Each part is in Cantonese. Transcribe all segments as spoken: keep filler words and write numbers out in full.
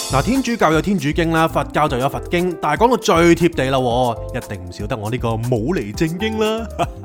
嗱，天主教有天主經啦，佛教就有佛經，但係講到最貼地啦，一定唔少得我呢個冇嚟正經啦。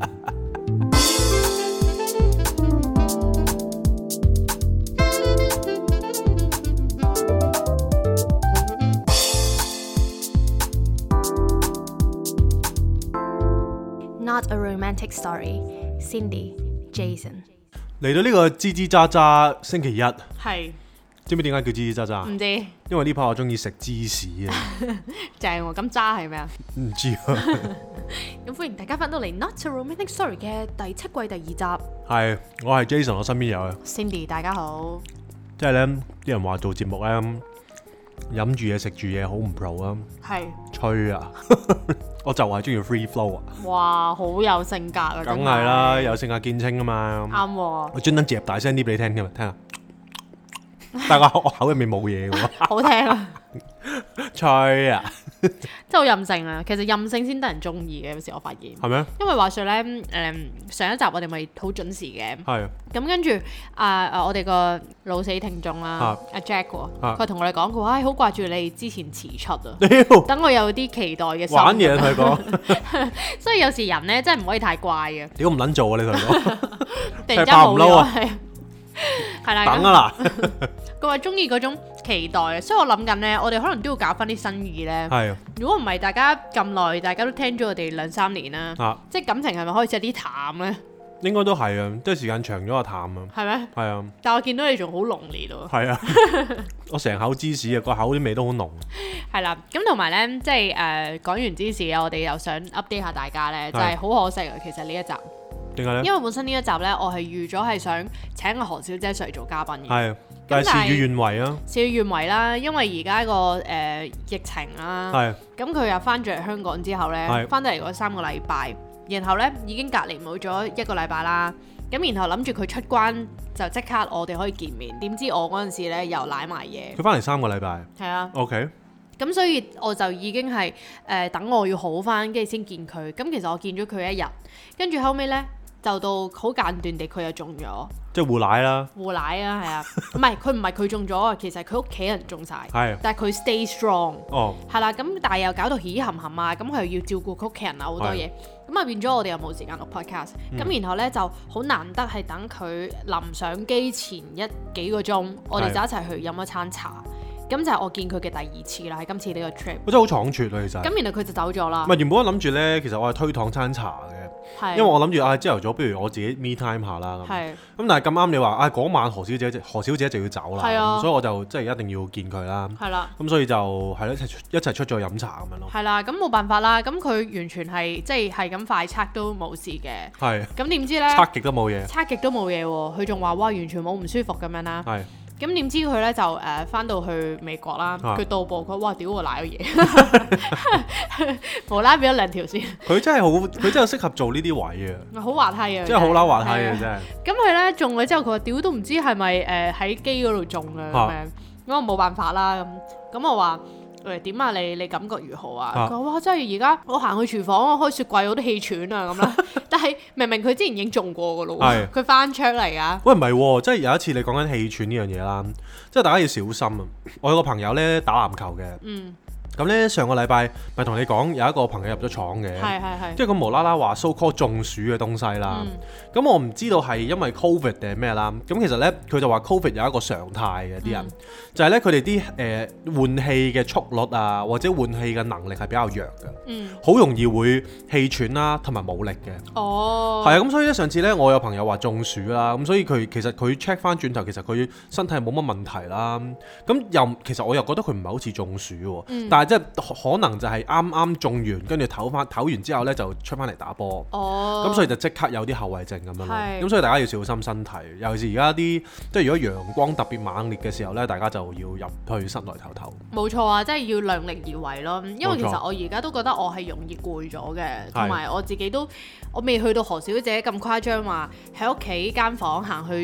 Not a romantic story. Cindy, Jason。 嚟到呢個吱吱喳喳星期一， 係。 知唔知點解叫吱吱喳喳？ 唔知， 因為呢排我中意食芝士啊！ 正喎，咁渣係咩啊？ 唔知啊！ 咁歡迎大家翻到嚟《Not a Romantic Story》嘅第七季第二集。 係，我係 Jason，我身邊有啊 Cindy，大家好。 即係咧，啲人話做節目咧，飲住嘢食住嘢好唔 pro 啊！ 係。 吹啊！我就係中意 free flow 啊！ 哇，好有性格啊！ 梗係啦，有性格見稱啊嘛！ 啱喎。 我專登夾大聲啲俾你聽㗎嘛，聽下。但係我我口入面冇嘢嘅喎， 好聽啊！ 吹啊！ 真係好任性啊！其實任性先得人中意嘅，有時我發現。 係咩？因為話說咧，誒、嗯、上一集我哋咪好準時嘅。 係。 咁跟住啊啊，我哋個老死聽眾啦，阿、啊啊、Jack 喎，佢同我哋講，佢話：唉，好掛住你之前遲出啊！等我有啲期待嘅心。玩嘢同佢講。 所以有時人咧真係唔可以太怪嘅。 屌唔撚做啊！你同佢講。 突然間冇咗啊！係啦。 等啊啦！ 佢話中意嗰種期待，所以我諗緊咧，我哋可能都要搞翻啲新意咧。係啊。如果唔係，大家咁耐，大家都聽咗我哋兩三年啦。啊。即係感情係咪開始有啲淡咧？應該都係啊，即係時間長咗就淡啊。係咩？係啊。但係我見到你仲好濃烈喎。係啊。我成口芝士啊，個口啲味都好濃。係啦，咁同埋咧，即係誒講完芝士啊，我哋又想 update 下大家咧，就係好可惜啊，其實呢一集。點解咧？因為本身呢一集咧，我係預咗係想請阿何小姐上嚟做嘉賓嘅。係。但係事與願違啊！事與願違啦，因為而家個誒疫情啦，咁佢又翻咗嚟香港之後咧，翻到嚟嗰三個禮拜，然後咧已經隔離冇咗一個禮拜啦，咁然後諗住佢出關就即刻我哋可以見面，點知我嗰陣時咧又賴埋嘢。佢翻嚟三個禮拜。係啊。OK。咁所以我就已經係誒、呃、等我要好翻，跟住先見佢。咁其實我見咗佢一日，跟住後尾咧就到好間斷地佢又中咗。即係互奶啦，互奶啊，係啊，唔係佢唔係佢中咗啊，其實佢屋企人中晒，係，但係佢 stay strong，哦，係啦，咁但係又搞到喜含含啊，咁佢又要照顧佢屋企人啊，好多嘢，咁啊變咗我哋又冇時間錄 podcast，咁、嗯、然後咧就好難得係等佢臨上機前一幾個鐘，我哋就一齊去飲一餐茶，咁就係我見佢嘅第二次啦，喺今次呢個 trip，我真係好倉促啊，其實，咁然後佢就走咗啦，唔係原本我諗住咧，其實我係推搪餐茶嘅。因為我諗住啊，朝頭早不如我自己 me time 下啦咁。係。咁但係咁啱你話啊嗰晚何小姐何小姐就要走啦，啊、所以我就即係一定要見佢啦。係啦。咁所以就係咯一齊一齊出咗飲茶咁樣咯。係啦，咁冇辦法啦。咁佢完全係即係係咁快測都冇事嘅。係。咁點知咧？測極都冇嘢。測極都冇嘢喎，佢仲話哇完全冇唔舒服咁樣啦。係。咁點知佢咧就誒翻到去美國啦，佢到埗佢哇屌我賴咗嘢，無啦變咗兩條線。佢真係好，佢真係適合做呢啲位啊！好滑稽啊！真係好撈滑稽啊！真係。咁佢咧中咗之後，佢話屌都唔知係咪誒喺機嗰度中啊咁樣，咁我冇辦法啦咁，咁我話。喂，點啊？你你感覺如何啊？佢話、啊：哇，真係而家我行去廚房，我開雪櫃，我都氣喘啊咁啦。但係明明佢之前已經中過噶咯喎，佢翻出嚟啊！喂，唔係喎，即係有一次你講緊氣喘呢樣嘢啦，即係大家要小心啊！我有個朋友咧打籃球嘅。嗯。咁咧上個禮拜咪同你講有一個朋友入咗廠嘅，係係係，即係佢無啦啦話 so called 中暑嘅東西啦。咁、嗯、我唔知道係因為 covid 定係咩啦。咁其實咧佢就話 covid 有一個常態嘅啲人，嗯、就係咧佢哋啲誒換氣嘅速率啊，或者換氣嘅能力係比較弱嘅，好、嗯、容易會氣喘啦，同埋冇力嘅。哦，係啊，咁所以咧上次咧我有朋友話中暑啦，咁所以佢其實佢 check 翻轉頭，其實佢身體冇乜問題啦。咁又其實我又覺得佢唔係好似中暑喎，嗯、但係即係可能就係啱啱中完，跟住唞翻唞完之後咧就出翻嚟打波，咁、哦、所以就即刻有啲後遺症咁樣咯。咁所以大家要小心身體，尤其是而家啲即係如果陽光特別猛烈嘅時候咧，大家就要入去室內唞唞。冇錯啊，即係要量力而為咯。因為其實我而家都覺得我係容易攰咗嘅，同埋我自己都我未去到何小姐咁誇張話喺屋企間房行去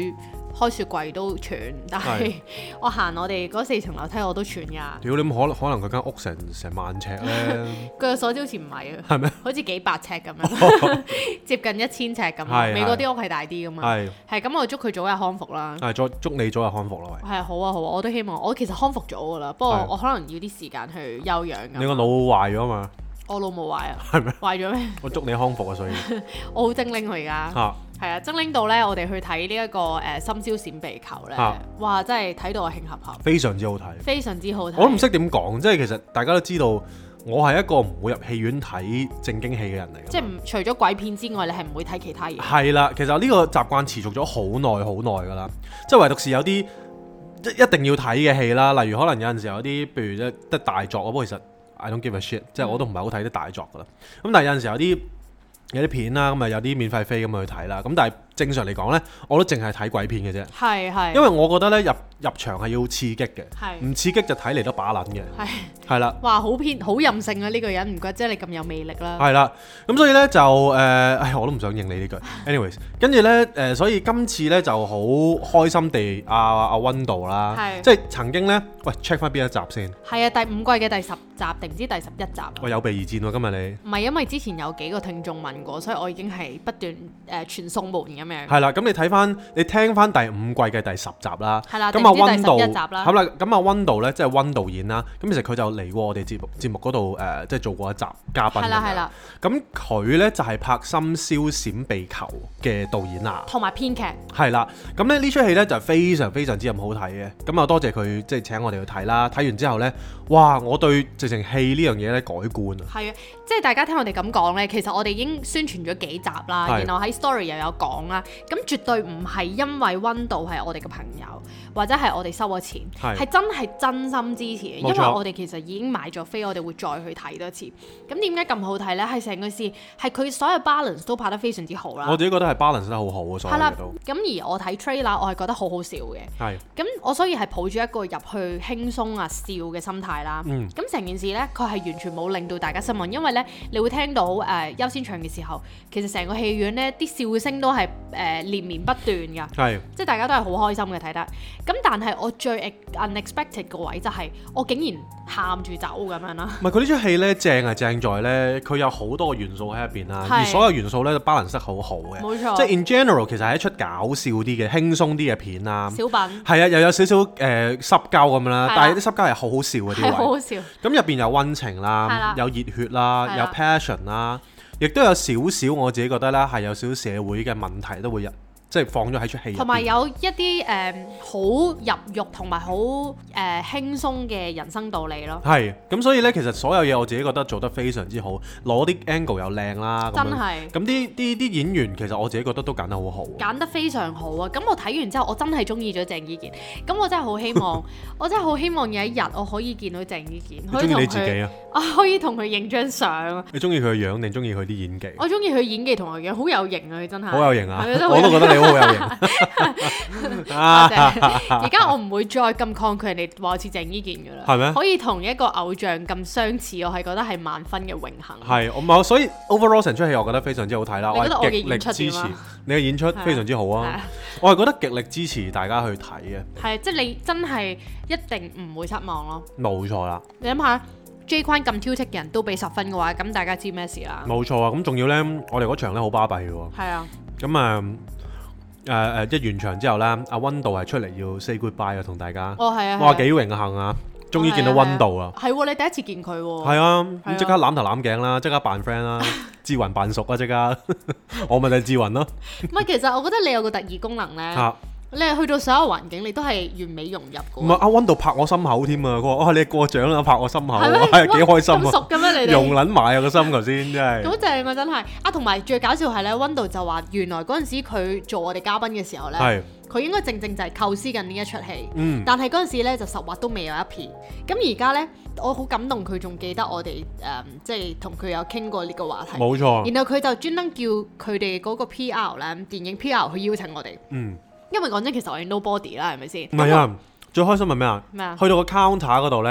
開雪櫃都喘，但係我行我哋嗰四層樓梯我都喘㗎。 屌你可可能佢間屋成成萬尺咧？據我所知好似唔係啊。 係咩？ 好似幾百尺咁樣，接近一千尺咁。美國啲屋係大啲㗎嘛。係。係咁，我祝佢早日康復啦。 係，祝祝你早日康復啦，喂。 係好啊好啊，我都希望。我其實康復咗㗎啦，不過我可能要啲時間去休養。 你個腦壞咗嘛？我腦冇壞啊。 係咩？ 壞咗咩？我祝你康復啊！所以我好精靈佢而家。嚇！係啊，精靈到咧，我哋去睇呢一個誒《深宵閃避球》咧，哇！真係睇到我慶合合。非常之好睇。非常之好睇。我都唔識點講，即係其實大家都知道，我係一個唔會入戲院睇正經戲嘅人嚟嘅。即係除咗鬼片之外，你係唔會睇其他嘢。係啦，其實呢個習慣持續咗好耐好耐㗎啦。即係唯獨是有啲一定要睇嘅戲啦，例如可能有陣時有啲，譬如一得大作，不過其實 I don't give a shit，即係我都唔係好睇啲大作㗎啦。咁但係有陣時有啲。有啲片啦，咁啊有啲免費飛咁去睇啦。咁但係正常嚟講咧，我都淨係睇鬼片嘅啫。係係。因為我覺得咧入入場係要刺激嘅，唔刺激就睇嚟都把撚嘅。係係啦。哇，好偏好任性啊！呢個人唔怪之你咁有魅力啦。係啦。咁所以咧就誒，唉，我都唔想應你呢句。Anyways，跟住咧誒，所以今次咧就好開心地阿阿溫導啦，即係曾經咧，喂 check 翻邊一集先。係啊，第五季嘅第十集定唔知第十一集。喂，有備而戰喎，今日你。唔係因為之前有幾個聽眾問。所以我已經係不斷誒傳送門咁樣。係啦，咁你睇翻，你聽翻第五季嘅第十集啦。係啦，咁啊溫導，好啦，咁啊溫導咧，即係溫導演啦。咁其實佢就嚟過我哋節目節目嗰度誒，即係做過一集嘉賓。係啦係啦。咁佢咧就係拍《深宵閃避球》嘅導演啦，同埋編劇。係啦，咁咧呢出戲咧就非常非常之咁好睇嘅。咁啊多謝佢即係請我哋去睇啦。睇完之後咧，哇！我對直情戲呢樣嘢咧改觀啊。係啊，即係大家聽我哋咁講咧，其實我哋已經宣傳咗幾集啦，然後喺 story 又有講啦，咁絕對唔係因為溫導係我哋嘅朋友，或者係我哋收咗錢，係真係真心支持嘅，因為我哋其實已經買咗飛，我哋會再去睇多次。咁點解咁好睇呢？係成個事係佢所有 balance 都拍得非常之好啦。我自己覺得係 balance 得好好嘅，所有嘢都。咁而我睇 trailer，我係覺得好好笑嘅。係。咁我所以係抱住一個入去輕鬆啊笑嘅心態啦。嗯。咁成件事呢，佢係完全冇令到大家失望，因為呢，你會聽到誒優先場嘅時候，其實成個戲院咧啲笑聲都係誒、呃、連綿不斷㗎，係即係大家都係好開心嘅睇得。咁但係我最 unexpected 個位就係我竟然喊住走咁樣啦。唔係佢呢出戲咧正係正在咧，佢有好多個元素喺入邊啦，而所有元素咧都 balance 得好好嘅。冇錯，即係 in general 其實係一出搞笑啲嘅、輕鬆啲嘅片啦。小品係啊，又有少少誒濕膠咁樣啦，但係啲濕膠係好好笑嘅啲位。係好好笑。咁入邊有溫情啦，有熱血啦，有 passion 啦。亦都有少少我自己覺得咧，係有少少社會嘅問題都會入，即係放咗喺出戲入邊。同埋有一啲誒好入肉同埋好誒輕鬆嘅人生道理咯。係，咁所以咧，其實所有嘢我自己覺得做得非常之好，攞啲 angle 又靚啦。真係。咁啲啲啲演員其實我自己覺得都揀得好好。揀得非常好啊！咁我睇完之後，我真係中意咗鄭伊健。咁我真係好希望，我真係好希望有一日我可以見到鄭伊健。你中意你自己啊？我可以同佢影張相。你中意佢嘅樣定中意佢啲演技？我中意佢演技同埋樣，好有型啊！佢真係。好有型啊！我都覺得你好有型。多謝。而家我唔會再咁抗拒人哋話似鄭伊健㗎啦。係咩？可以同一個偶像咁相似，我係覺得係萬分嘅榮幸。係，我冇，所以 overall 成出戲我覺得非常之好睇啦。我係極力支持你嘅演出，非常之好啊！我係覺得極力支持大家去睇嘅。係，即係你真係一定唔會失望咯。冇錯啦。你諗下。J 框咁挑剔嘅人都俾十分嘅話，咁大家知咩事啦？冇錯啊！咁仲要咧，我哋嗰場咧好巴閉嘅喎。係啊。咁啊誒誒，一完場之後咧，阿溫導係出嚟要 say goodbye 啊，同大家。哦，係啊。哇，幾榮幸啊！終於見到溫導啦。係喎，你第一次見佢喎。係啊，咁即刻攬頭攬頸啦，即刻扮 friend 啦，志雲扮熟啊，即刻。我咪就係志雲咯。唔係，其實我覺得你有個特異功能咧。啊。你係去到所有環境，你都係完美融入嘅。唔係阿溫導拍我心口添啊！佢話：哇，你過獎啦，拍我心口，係幾開心啊！咁熟嘅咩？你哋融撚埋啊個心頭先，真係。好正啊！真係啊，同埋最搞笑係咧，溫導就話原來嗰陣時佢做我哋嘉賓嘅時候咧，佢應該正正就係構思緊呢一出戲。嗯。但係嗰陣時咧就十劃都未有一片。咁而家咧，我好感動，佢仲記得我哋誒，即係同佢有傾過呢個話題。冇錯。然後佢就專登叫佢哋嗰個 P R 咧，電影 P R 去邀請我哋。嗯。因為講真，其實我係 nobody 啦，係咪先？唔係啊，最開心係咩啊？咩啊？去到個 counter 嗰度咧，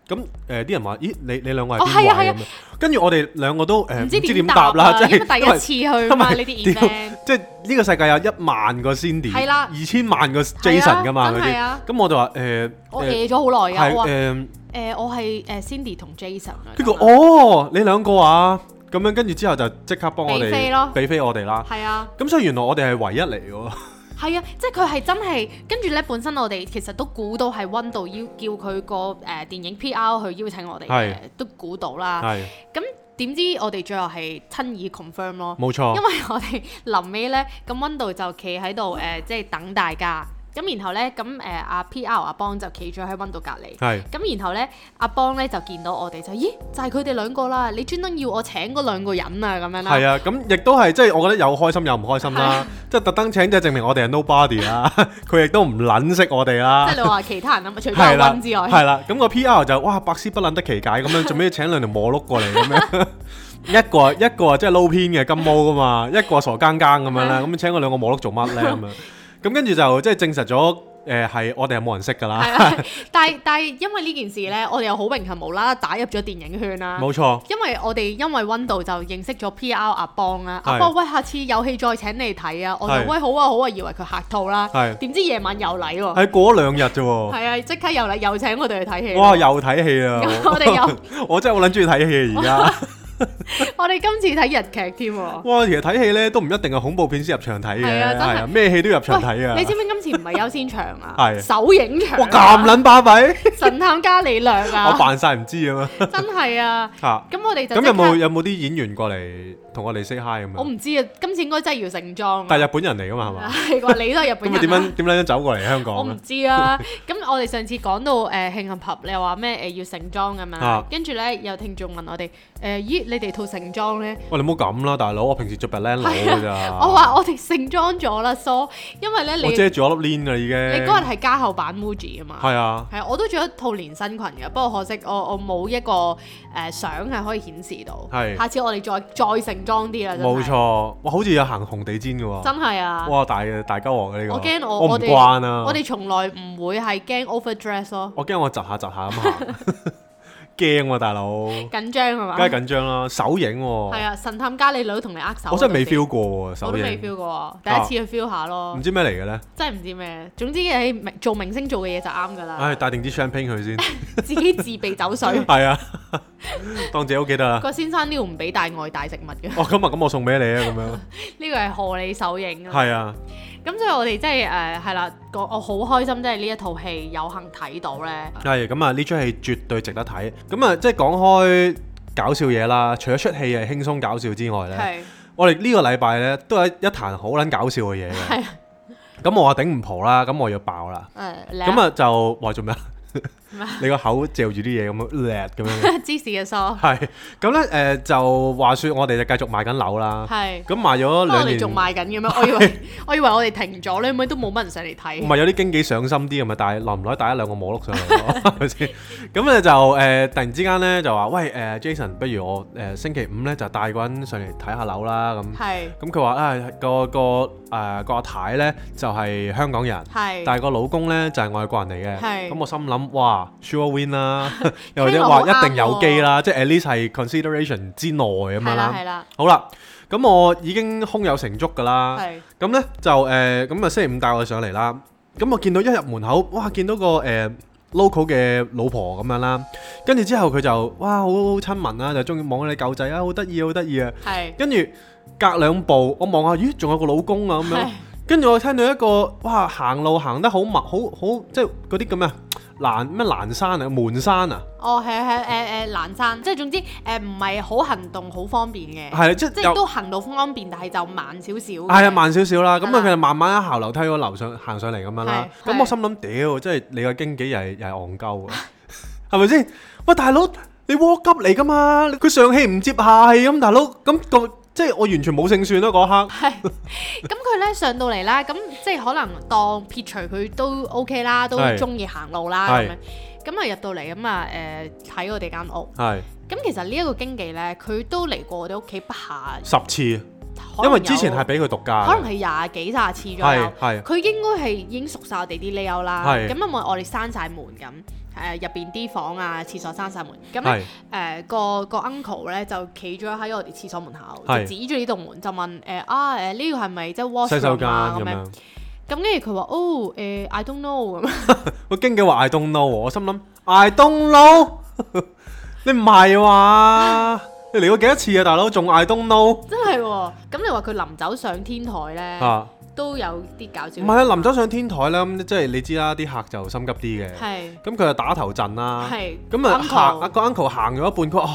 咁誒啲人話：咦，你你兩個係邊位咁樣？跟住我哋兩個都誒唔知點答啦，即係第一次去嘛呢啲 event， 即係呢個世界有一萬個 Cindy，係啦，二千萬個 Jason 噶嘛嗰啲。咁我就話誒， 我餓咗好耐㗎， 誒誒我係誒 Cindy 同 Jason 啊。 跟住哦，你兩個啊，咁樣跟住之後就即刻幫我哋俾飛咯，俾飛我哋啦。係啊，咁所以原來我哋係唯一嚟嘅喎。 係啊，即係佢係真係跟住咧，本身我哋其實都估到係溫度要叫佢個誒電影 P R 去邀請我哋嘅，都估到啦。係咁點知我哋最後係親耳 confirm 咯，冇錯。因為我哋臨尾咧，咁溫度就企喺度誒，即係等大家。咁然後咧，咁誒阿 P R 阿邦就企咗喺溫度隔離。係。咁然後咧，阿邦咧就見到我哋就，咦，就係佢哋兩個啦！你專登要我請嗰兩個人啊，咁樣啦。係啊，咁亦都係即係我覺得有開心有唔開心啦。即係特登請，即係證明我哋係 nobody 啦。佢亦都唔撚識我哋啦。即係你話其他人啊嘛，除咗阿溫之外。係啦，咁個 P R 就哇百思不撚得其解咁樣，做咩要請兩條摩碌過嚟咁樣？一個一個即係撈偏嘅金毛噶嘛，一個傻更更咁樣啦。咁請嗰兩個摩碌做乜咧咁樣？咁跟住就即係證實咗，誒係我哋係冇人識㗎啦。係啊， 但係但係因為呢件事咧，我哋又好榮幸無啦啦打入咗電影圈啦。冇錯。因為我哋因為溫度就認識咗 P R 阿邦啦。阿邦喂，下次有戲再請你睇啊！我哋喂好啊好啊，以為佢客套啦。係。點知夜晚又嚟喎？係過咗兩日啫喎。係啊，即刻又嚟又請我哋去睇戲。 哇！又睇戲啊！ 我哋又我真係好撚中意睇戲而家。 我哋今次睇日劇添喎！ 哇，其實睇戲咧都唔一定係恐怖片先入場睇嘅，係啊，真係咩戲都入場睇啊！ 你知唔知今次唔係優先場啊？係首映場。哇， 咁撚巴閉！ 神探伽利略啊！ 我扮晒唔知啊嘛！ 真係啊！嚇！咁我哋就咁有冇有冇啲演員過嚟同我哋 say hi 咁樣？ 我唔知啊，今次應該真係要盛裝。 但係日本人嚟㗎嘛係嘛？ 係話你都係日本人。咁點樣點樣走過嚟香港？ 我唔知啊！咁我哋上次講到誒慶幸合，你又話咩誒要盛裝咁樣，跟住咧有聽眾問我哋誒咦你哋套盛裝？喂， 你唔好咁啦，大佬，我平時着白靚佬㗎咋。 我話我哋盛裝咗啦，梳，因為咧你我遮住咗粒鏈㗎已經。 你嗰日係加厚版 Muji 啊嘛。係啊。係啊，我都着一套連身裙嘅，不過可惜我我冇一個誒相係可以顯示到。係。下次我哋再再盛裝啲啦。 冇錯，哇，好似有行紅地氈㗎喎。 真係啊。哇， 大嘅大鳩鑊嘅呢個。 我驚我我唔慣啊。 我哋從來唔會係驚 overdress 咯。 我驚我窒下窒下咁行。驚喎，大佬！ 緊張係嘛？ 梗係緊張啦，手影喎。 係啊，神探伽利略都同你握手。 我真係未 feel 過喎，手影。我都未 feel 過，第一次去 feel 下咯。 唔知咩嚟嘅咧？ 真係唔知咩，總之你做明星做嘅嘢就啱㗎啦。 唉，帶定支 champagne 去先。 自己自備酒水。 係啊，當自己屋企得啦。 個先生呢度唔俾帶外帶食物嘅。 哦，今日咁我送俾你啊，咁樣。 呢個係賀你手影啊。係啊。咁所以我哋真係誒係啦，我我好開心，即係呢一套戲有幸睇到咧。係咁啊！呢出戲絕對值得睇。咁啊，即係講開搞笑嘢啦，除咗出戲係輕鬆搞笑之外咧，是我哋呢個禮拜咧都有一壇好撚搞笑嘅嘢嘅。係。咁我話頂唔蒲啦，咁我要爆啦。誒。咁啊就話做咩啊？你個口嚼住啲嘢咁樣叻咁樣，芝士嘅梳係咁咧誒，就話説我哋就繼續賣緊樓啦。係咁賣咗兩年，我哋仲賣緊嘅咩？我以為我以為我哋停咗咧，咁都冇乜人上嚟睇。唔係有啲經紀上心啲咁咪帶耐唔耐帶一兩個摩碌上嚟咯，係咪先？咁咧就誒突然之間咧就話喂誒 Jason，不如我誒星期五咧就帶個人上嚟睇下樓啦咁。係咁佢話啊個個誒個阿太咧就係香港人，係但係個老公咧就係外國人嚟嘅。係咁我心諗。哇 ，sure win 啦，又或者話一定有機啦，即係 at least 係 consideration 之內咁樣啦。係啦，好啦，咁我已經胸有成竹㗎啦。係。咁咧就誒，咁啊星期五帶我上嚟啦。咁我見到一入門口，哇，見到個誒 local 嘅老婆咁樣啦。跟住之後佢就哇好好親民啦，就中意望你狗仔啊，好得意啊，好得意啊。係。跟住隔兩步，我望下，咦，仲有個老公啊咁樣。跟住我聽到一個哇行路行得好密，好好即係嗰啲咁啊。欄咩欄山啊，門山啊？哦，係係誒誒欄山，即係總之誒唔係好行動好方便嘅。係即即係都行動方便，但係就慢少少。係啊，慢少少啦。咁啊，佢就慢慢一行樓梯嗰樓上行上嚟咁樣啦。咁我心諗屌，即係你個經紀又係又係戇鳩啊，係咪先？喂，大佬，你禍急嚟㗎嘛？佢上氣唔接下氣咁，大佬咁個。即係我完全冇勝算咯嗰刻。係，咁佢咧上到嚟啦，咁即係可能當撇除佢都 OK 啦，都中意行路啦咁樣。咁啊入到嚟咁啊誒睇我哋間屋。係。咁其實呢一個經紀咧，佢都嚟過我哋屋企不下十次，因為之前係俾佢獨家，可能係廿幾卅次左右。係。佢應該係已經熟晒我哋啲 layout啦。係。咁因為我哋閂晒門咁。 誒入邊啲房啊、廁所閂晒門，咁咧誒個個 uncle 咧就企咗喺我哋廁所門口，就指住呢棟門就問誒啊誒呢個係咪即係 washroom 啊咁樣？咁跟住佢話哦誒 I don't know 咁。 個經紀話 I don't know，我心諗 I don't know， 你唔係話你嚟過幾多次啊，大佬仲 I don't know？ 真係喎，咁你話佢臨走上天台咧？啊都有啲搞笑。唔係啊，臨走上天台咧，咁即係你知啦，啲客就心急啲嘅。 係。咁佢就打頭陣啦。 係。 咁啊行，阿個 uncle 行咗一半，佢話哦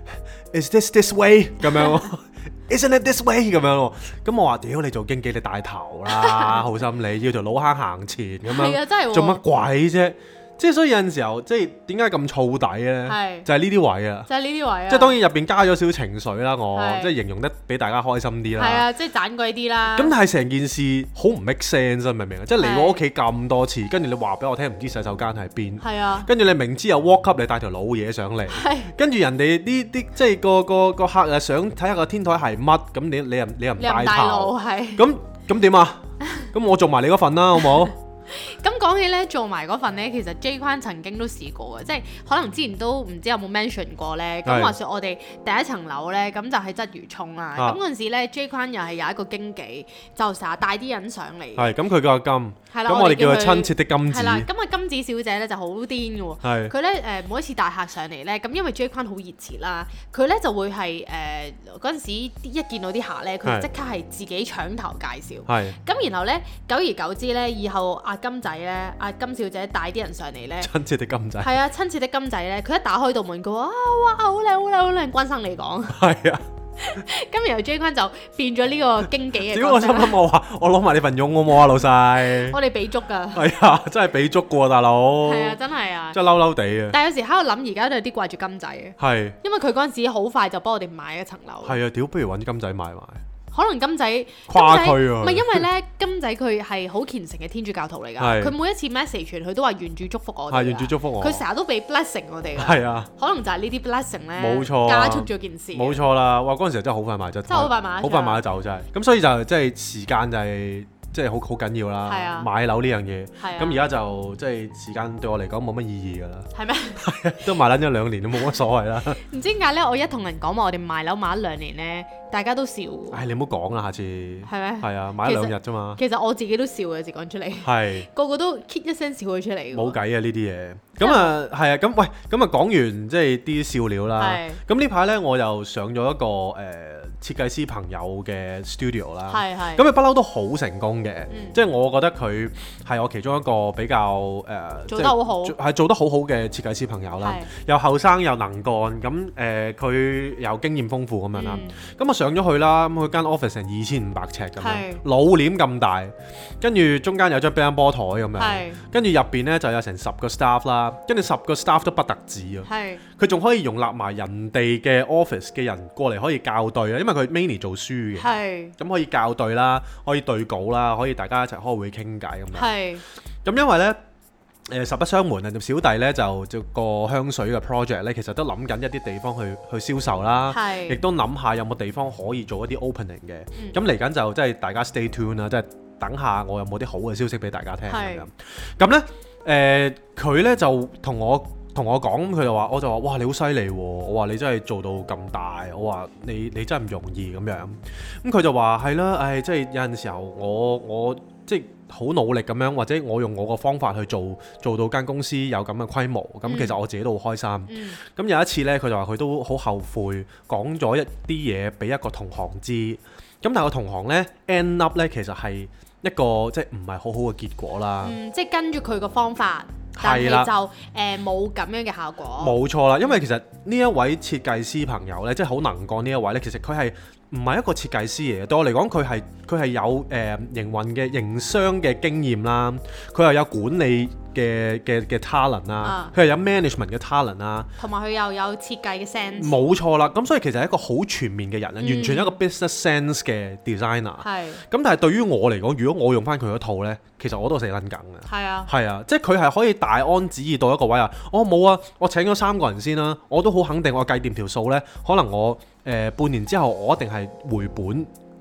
，Is this this way 咁樣？Isn't it this way 咁樣喎？咁我話屌你做經紀你帶頭啦，好心你要條老坑行前咁樣。係啊，真係。做乜鬼啫？即係所以有陣時候，即係點解咁燥底咧？係就係呢啲位啊！ 就係呢啲位啊！ 即係當然入邊加咗少少情緒啦，我即係形容得俾大家開心啲啦。 係啊，即係盞鬼啲啦。 咁但係成件事好唔 make sense，明唔明啊？即係嚟我屋企咁多次，跟住你話俾我聽唔知洗手間喺邊。係啊。跟住你明知有 walk up，你帶條老嘢上嚟。係。跟住人哋啲啲即係個個個客啊想睇下個天台係乜，咁你你又你又唔帶頭。係。咁咁點啊？咁我做埋你嗰份啦，好冇？ 咁講起咧，做埋嗰份咧，其實 J 框曾經都試過嘅，即係可能之前都唔知有冇 mention 過咧。咁話說我哋第一層樓咧，咁就喺鰂魚涌啦。咁嗰陣時咧 ，J 框又係有一個經紀，就成日帶啲人上嚟。係，咁佢叫阿金。係啦，咁我哋叫佢親切的金子。係啦，咁啊金子小姐咧就好癲嘅喎。係。佢咧誒每一次帶客上嚟咧，咁因為 J 框好熱切啦，佢咧就會係誒嗰陣時一見到啲客咧，佢就即刻係自己搶頭介紹。係。咁然後咧，久而久之咧，以後阿金仔咧，阿金小姐帶啲人上嚟咧，親切的金仔，係啊，親切的金仔咧，佢一打開道門，佢話啊哇，好靚好靚好靚，關生你講，係啊，咁然後 J 框就變咗呢個經紀嘅角色。屌我心諗我話，我攞埋你份傭好冇啊，老細，我哋俾足㗎，係啊，真係俾足㗎喎，大佬，係啊，真係啊，真係嬲嬲地啊。但係有時喺度諗，而家都有啲掛住金仔嘅，係，因為佢嗰陣時好快就幫我哋買一層樓，係啊，屌不如揾金仔買埋。可能金仔跨區啊，唔係因為咧，金仔佢係好虔誠嘅天主教徒嚟㗎，佢每一次 message 傳佢都話願主祝福我哋，係願主祝福我，佢成日都俾 blessing 我哋㗎，係啊，可能就係呢啲 blessing 咧，冇錯，加速咗件事，冇錯啦，哇嗰陣時真係好快買咗，真係好快買，好快買得走真係，咁所以就即係時間就係。即係好好緊要啦，啊、買樓呢樣嘢，咁而家就即係時間對我嚟講冇乜意義㗎啦。係咩嗎？都買撚咗兩年都冇乜所謂啦。唔知點解咧？我一同人講話我哋賣樓買咗兩年咧，大家都笑。唉，你唔好講啦，下次。係咩嗎？係啊，買咗兩日啫嘛。其實我自己都笑嘅，自講出嚟。係是。個個都 k 一聲笑佢出嚟。冇計啊！呢啲嘢。咁啊，係啊，咁喂，咁啊講完即係啲笑料啦。係。咁呢排咧，我又上咗一個誒。呃設計師朋友嘅 studio 啦，係係，咁佢不嬲都好成功嘅，嗯、即係我覺得佢係我其中一個比較誒，呃、做得好好，係做得好好嘅設計師朋友啦，是又後生又能幹，咁誒佢又經驗豐富咁樣啦，咁我、嗯、上咗去啦，咁佢間 office 成二千五百尺咁樣，是老臉咁大，跟住中間有張乒乓波台咁樣，跟住入邊咧就有成十個 staff 啦，跟住十個 staff 都不特止啊，佢仲是可以容納埋人哋嘅 office 嘅人過嚟可以校對啊，因為佢 mainly 做書嘅，咁是可以校對啦，可以對稿啦，可以大家一齊開會傾偈咁樣。係，咁因為咧，誒、呃、實不相瞞啊，小弟咧就就個香水嘅 project 咧，其實都諗緊一啲地方去去銷售啦，亦是都諗下有冇地方可以做一啲 opening 嘅。咁嚟緊就即係大家 stay tuned 啦，即係等下我有冇啲好嘅消息俾大家聽咁樣。咁咧，誒佢咧就同我。同我講，佢就話，我就話，哇，你好犀利喎！我話你真係做到咁大，我話你你真係唔容易咁樣。咁佢就話係啦，唉，即係有陣時候我我即係好努力咁樣，或者我用我個方法去做，做到間公司有咁嘅規模。咁、嗯、其實我自己都好開心。咁、嗯、有一次呢，佢就話佢都好後悔講咗一啲嘢俾一個同行知。咁但係個同行呢 end up 呢，其實係一個即係唔係好好嘅結果啦。嗯，即係跟住佢個方法。係啦，就誒冇咁樣嘅效果。冇錯啦，因為其實呢一位設計師朋友咧，即係好能幹呢一位咧，其實佢係唔係一個設計師嚟嘅。對我嚟講，佢係佢係有誒、呃、營運嘅營商嘅經驗啦，佢又有管理嘅嘅嘅 talent 啦，佢又有 management 嘅 talent 啦，同埋佢又有設計嘅 sense。冇錯啦，咁所以其實係一個好全面嘅人，嗯、完全一個 business sense 嘅 designer。係。咁但係對於我嚟講，如果我用翻佢嗰套咧，其實我都死撚梗嘅。係啊。係啊，即係佢係可以大安旨意到一個位啊！我冇啊，我請咗三個人先啦，我都好肯定，我計掂條數咧，可能我誒、呃、半年之後，我一定係回本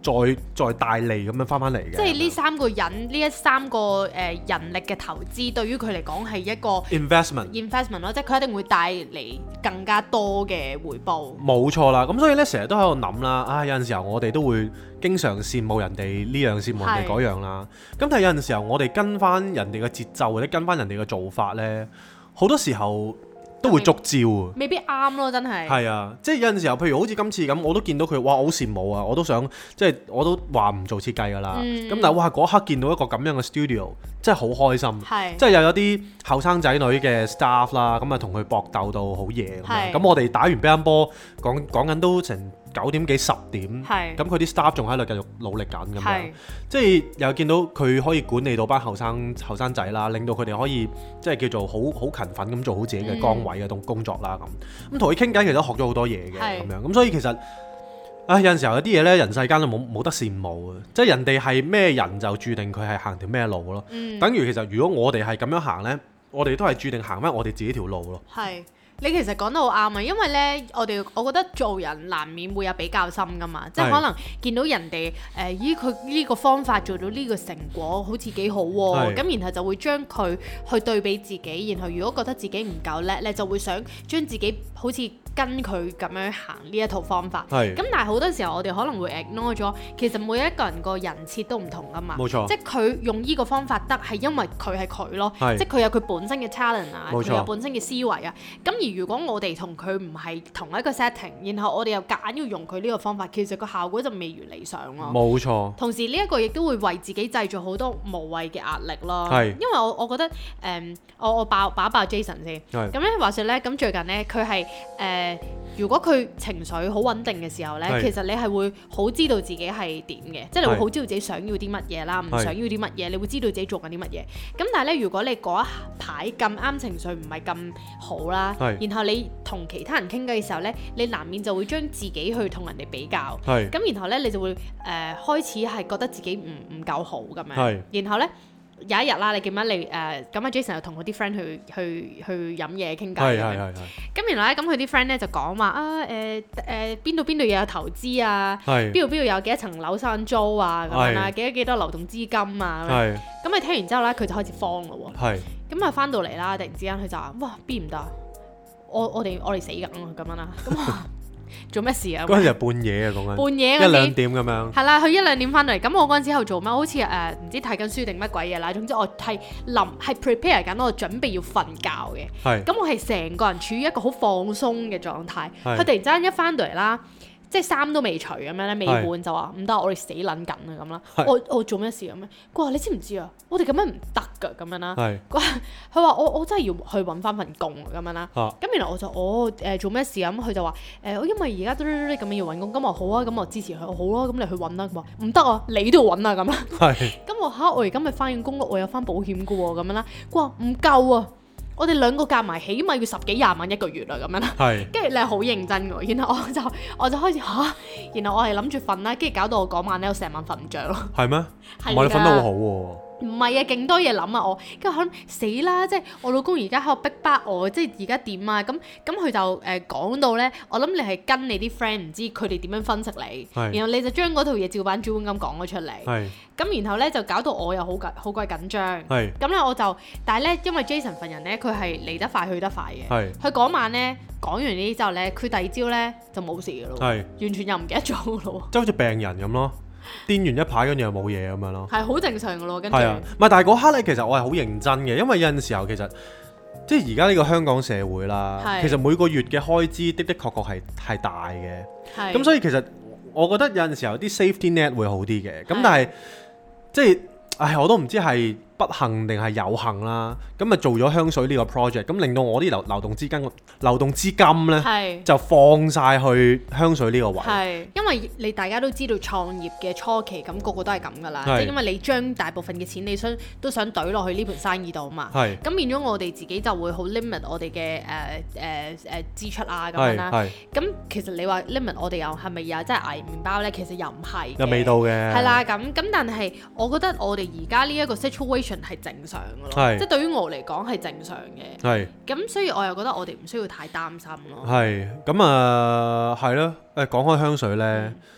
再再大利咁樣翻翻嚟嘅。 即係呢三個人，呢一三個誒、呃、人力嘅投資，對於佢嚟講係一個 investment investment 咯，即係佢一定會帶嚟更加多嘅回報。冇錯啦，咁所以咧成日都喺度諗啦，啊有陣時候我哋都會經常羨慕人哋呢樣羨慕人哋嗰樣啦。咁但係有陣時候我哋跟翻人哋嘅節奏或者跟翻人哋嘅做法咧，好多時候都會捉焦啊， 未必啱咯，真係。 係啊，即係有陣時候，譬如好似今次咁，我都見到佢，哇，好羨慕啊！我都想，即係我都話唔做設計噶啦。咁、嗯、但係哇，嗰刻見到一個咁樣嘅 studio，真係好開心。係，即係又有啲後生仔女嘅 staff 啦，咁啊同佢搏鬥到好夜咁樣。咁我哋打完乒乓波，講講緊都成九點幾十點。係。咁佢啲 staff 仲喺度繼續努力緊咁樣。即係又見到佢可以管理到班後生後生仔啦，令到佢哋可以即係叫做好好勤奮咁做好自己嘅崗位嘅工工作啦咁。咁同佢傾偈其實都學咗好多嘢嘅咁樣。咁所以其實啊有陣時候有啲嘢咧，人世間都冇冇得羨慕啊！即係人哋係咩人就注定佢係行條咩路咯。嗯、等於其實如果我哋係咁樣行咧，我哋都係注定行翻我哋自己條路咯。係。 你其實講得好啱啊，因為咧，我哋我覺得做人難免會有比較心噶嘛，即係可能見到人哋誒依佢呢個方法做到呢個成果好似幾好喎，咁然後就會將佢去對比自己，然後如果覺得自己唔夠叻咧，就會想將自己好似跟佢咁樣行呢一套方法。咁但係好多時候我哋可能會 ignore 咗，其實每一個人個人設都唔同噶嘛。冇錯。即係佢用呢個方法得係因為佢係佢咯，即係佢有佢本身嘅 talent 啊，佢有本身嘅思維啊，咁而如果我哋同佢唔係同一個 setting， 然後我哋又夾硬要用佢呢個方法，其實個效果就未如理想咯。冇錯。同時呢一個亦都會為自己製造好多無謂嘅壓力咯。係。因為我我覺得誒、嗯，我我爆爆一爆 Jason 先。係。咁咧話説咧，咁最近咧佢係誒，如果佢情緒好穩定嘅時候咧，其實你係會好知道自己係點嘅，即係你會好知道自己想要啲乜嘢啦，唔想要啲乜嘢，你會知道自己做緊啲乜嘢。咁但係咧，如果你嗰一排咁啱情緒唔係咁好啦，然後你同其他人傾偈嘅時候咧，你難免就會將自己去同人哋比較，咁然後咧你就會誒、呃、開始係覺得自己唔唔夠好咁樣，然後咧有一日啦，你記唔記得你誒咁阿 Jason 又同佢啲 friend 去去去飲嘢傾偈，咁然後咧咁佢啲 friend 咧就講話啊誒誒邊度邊度又有投資啊，邊度邊度有幾多層樓收緊租啊咁樣啊，幾多幾多流動資金啊，咁佢聽完之後咧佢就開始慌咯喎，咁啊翻到嚟啦，突然之間佢就話哇邊唔得？我我哋我哋死緊啊咁樣啦，咁做咩事啊？嗰陣時係半夜啊，講緊半夜一兩點咁樣。係啦，佢一兩點翻嚟，咁我嗰陣時喺度做乜？好似誒唔知睇緊書定乜鬼嘢啦。總之我係臨係 prepare 緊，我準備要瞓覺嘅。係。咁我係成個人處於一個好放鬆嘅狀態。係。佢突然之間一翻到嚟啦，即係衫都未除咁樣咧，未換就話唔得，我哋死撚緊啊咁啦。我我做咩事咁咧？佢話你知唔知啊？我哋咁樣唔得㗎咁樣啦。係。佢話我我真係要去揾翻份工咁樣啦。咁原來我就我誒做咩事啊？咁佢就話誒，因為而家嘟嘟嘟咁樣要揾工，咁我好啊，咁我支持佢，我好咯，咁你去揾啦。佢話唔得啊，你都要揾啊咁啦。係。咁我嚇我而家咪翻緊工咯，我有翻保險㗎喎咁樣啦。佢話唔夠啊。我哋兩個夾埋起碼要十幾廿萬一個月啦，咁樣啦。係。跟住你係好認真㗎，然後我就我就開始嚇，然後我係諗住瞓啦，跟住搞到我嗰晚咧，我成晚瞓唔着咯。係咩？係㗎。唔係你瞓得好好喎。唔係啊，勁多嘢諗啊我，跟住可能死啦，即係我老公而家喺度逼迫我，即係而家點啊？咁咁佢就誒講到咧，我諗你係跟你啲 friend 唔知佢哋點樣分析你，然後你就將嗰套嘢照板煮碗咁講咗出嚟。係。咁然後咧就搞到我又好緊好鬼緊張。係。咁咧我就，但係咧因為 Jason 份人咧，佢係嚟得快去得快嘅。係。佢嗰晚咧講完呢啲之後咧，佢第二朝咧就冇事㗎咯。係。完全又唔記得咗㗎咯。即係好似病人咁咯。癲完一排跟住又冇嘢咁樣咯，係好正常噶咯，跟住係啊，唔係但係嗰刻咧，其實我係好認真嘅，因為有陣時候其實即係而家呢個香港社會啦，其實每個月嘅開支的的確確係係大嘅，咁所以其實我覺得有陣時候啲 safety net 會好啲嘅，咁但係即係唉我都唔知係不幸定係有幸啦，咁啊做咗香水呢個 project，咁令到我啲流流動資金流動資金咧就放晒去香水呢個位。係，因為你大家都知道創業嘅初期，咁個個都係咁噶啦，即係因為你將大部分嘅錢你想都想懟落去呢盤生意度啊嘛。係。咁變咗我哋自己就會好 limit 我哋嘅誒誒誒支出啊咁樣啦。係。咁其實你話 limit 我哋又係咪又真係捱麵包咧？其實又唔係。有味道嘅。係啦，咁咁但係我覺得我哋而家呢一個 situation係正常嘅咯，即係對於我嚟講係正常嘅。係。咁所以我又覺得我哋唔需要太擔心咯。係。咁啊，係咯。誒講開香水咧，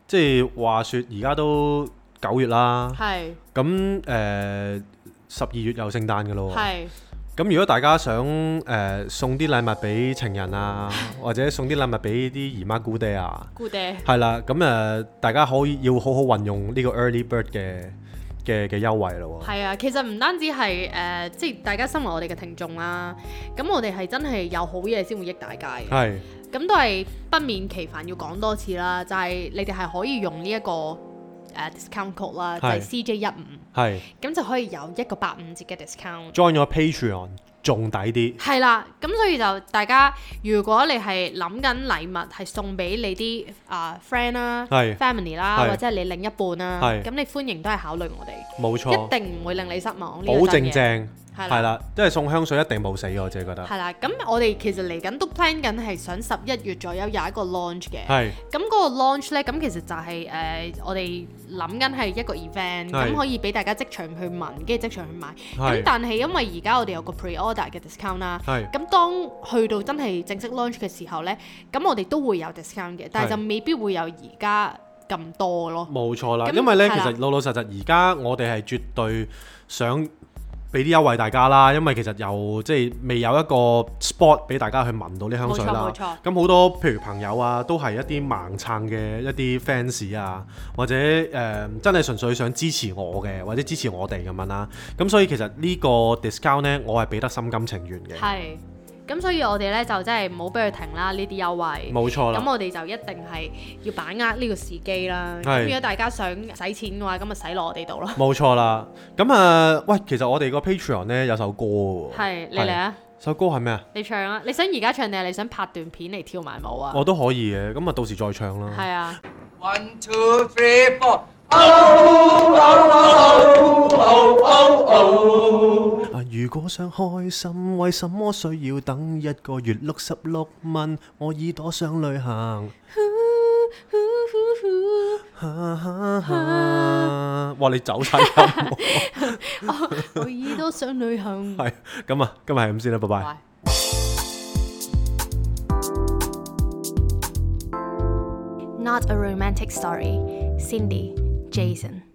即係話説而家都九月啦， 係咁誒十二月又聖誕㗎咯， 係咁如果大家想誒、呃、送啲禮物俾情人啊，或者送啲禮物俾啲姨媽姑爹啊， 姑爹係啦，咁誒、呃、大家可以要好好運用呢個 early bird 嘅嘅嘅優惠咯喎。 係啊，其實唔單止係誒、呃，即係大家身為我哋嘅聽眾啦，咁我哋係真係有好嘢先會益大家嘅。係。咁都係不免其煩要講多次啦，就係、是、你哋係可以用呢、這、一個誒、uh, discount code 啦，就係 C J 一五，係咁就可以有一個八五折嘅 discount。join 咗 Patreon 仲抵啲。係啦，咁所以就大家如果你係諗緊禮物係送俾你啲啊、uh, friend 啦、family 啦，或者係你另一半啦，咁你歡迎都係考慮我哋，冇錯，一定唔會令你失望。保證正。係啦，即係送香水一定冇死，我自己覺得。係啦，咁我哋其實嚟緊都 plan 緊係想十一月左右有一個 launch 嘅。係。咁嗰個 launch 咧，咁其實就係、是、誒、呃、我哋諗緊係一個 event，咁可以俾大家即場去聞，跟住即場去買。咁但係因為而家我哋有個 pre-order 嘅 discount 啦。係。咁當去到真係正式 launch 嘅時候咧，咁我哋都會有 discount 嘅，但係就未必會有而家咁多咯。冇錯啦，因為咧其實老老實實而家我哋係絕對想俾啲優惠大家啦，因為其實又即係未有一個 spot 俾大家去聞到啲香水啦。冇錯，冇錯。咁好多譬如朋友啊，都係一啲盲撐嘅一啲 fans 啊，或者誒、呃、真係純粹想支持我嘅，或者支持我哋咁樣啦。咁所以其實呢個 discount 呢，我係俾得心甘情願嘅。係。咁所以我哋咧就真係唔好俾佢停啦，呢啲優惠。冇錯啦。咁我哋就一定係要把握呢個時機啦。咁如果大家想使錢嘅話，咁咪使落我哋度咯。冇錯啦。咁啊、呃，喂，其實我哋個 Patreon 咧有首歌喎。係，你嚟啊！首歌係咩啊？你唱啊！你想而家唱定係你想拍段片嚟跳埋舞啊？我都可以嘅，咁啊到時再唱啦。係啊。One two three four。如果想開心，為什麼需要等一個月六十六蚊？我耳朵想旅行。哇！你走晒音。我耳朵想旅行。係咁啊，今日係咁先啦，拜拜。Not a romantic story. Cindy, Jason.